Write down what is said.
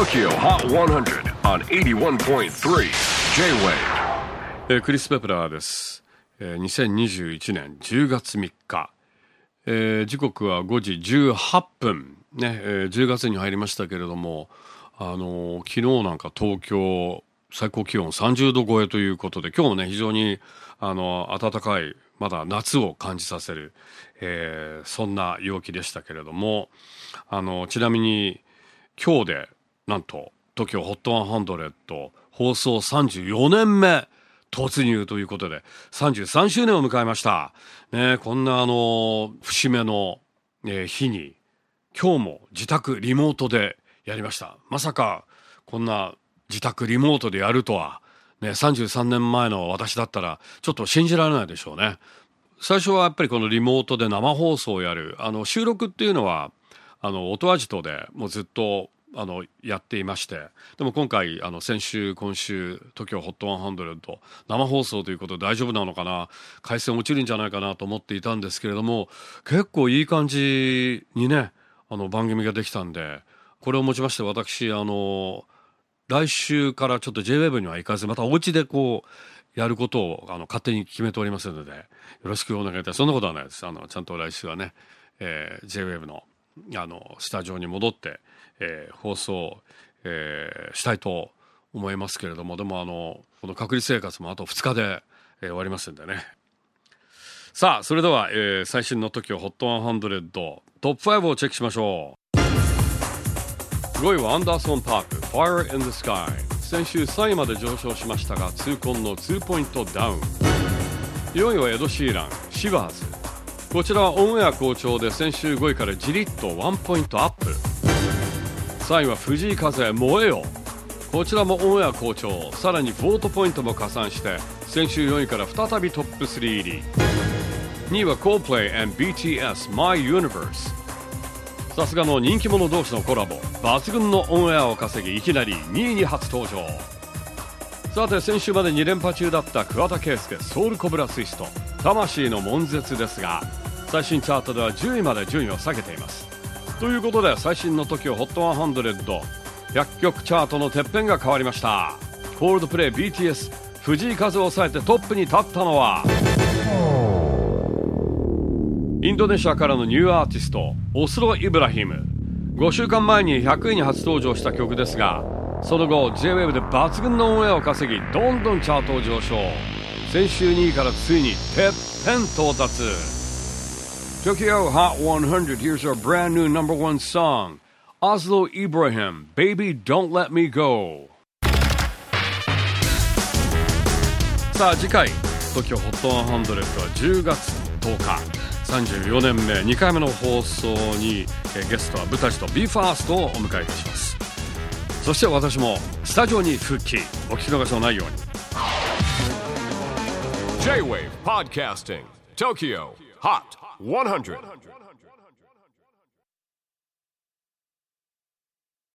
TOKYO HOT 100 on 81.3 J-WAVE、 クリス・ペプラーです。2021年10月3日、時刻は5時18分、ね10月に入りましたけれども、昨日なんか東京最高気温30度超えということで、今日もね非常に暖かい、まだ夏を感じさせる、そんな陽気でしたけれども、ちなみに今日でなんと TOKYO HOT 100放送34年目突入ということで33周年を迎えました、ね、こんな節目の、日に今日も自宅リモートでやりました。まさかこんな自宅リモートでやるとは、ね、33年前の私だったらちょっと信じられないでしょうね。最初はやっぱりこのリモートで生放送をやる収録っていうのは音アジトでもうずっとやっていまして、でも今回先週今週 TOKYO HOT 100生放送ということで大丈夫なのかな、回線落ちるんじゃないかなと思っていたんですけれども、結構いい感じにね番組ができたんで、これをもちまして私来週からちょっと J-WAVE には行かず、またお家でこうやることを勝手に決めておりますので、よろしくお願いいたします。そんなことはないです。ちゃんと来週はね、J-WAVE のスタジオに戻って、放送、したいと思いますけれども、でもこの隔離生活もあと2日で、終わりますんでね。さあそれでは、最新の TOKYO HOT 100トップ5をチェックしましょう。5位はアンダーソン・パーク Fire in the Sky。 先週3位まで上昇しましたが痛恨の2ポイントダウン。4位はエド・シーランシバーズ。こちらはオンエア好調で先週5位からじりっと1ポイントアップ。3位は藤井風燃えよ。こちらもオンエア好調、さらにボートポイントも加算して先週4位から再びトップ3入り。2位は Coldplay and BTS My Universe。 さすがの人気者同士のコラボ、抜群のオンエアを稼ぎいきなり2位に初登場。さて先週まで2連覇中だった桑田佳祐ソウルコブラツイスト魂の悶絶ですが、最新チャートでは10位まで順位を下げています。ということで最新の TOKYO HOT 100曲チャートのてっぺんが変わりました。コールドプレイ BTS 藤井風を抑えてトップに立ったのはインドネシアからのニューアーティストオスロ・イブラヒム。5週間前に100位に初登場した曲ですが、その後 J-WAVE で抜群のオンエアを稼ぎどんどんチャートを上昇。先週2位からついにてっぺん到達。 TOKYO HOT 100 Here's our brand new number one song Oslo Ibrahim Baby Don't Let Me Go。 さあ次回 TOKYO HOT 100は10月10日34年目2回目の放送にゲストはブタジと BE:FIRST をお迎えいたします。そして私もスタジオに復帰。お聞き逃しのないように。 J-WAVE PODCASTING TOKYO HOT 100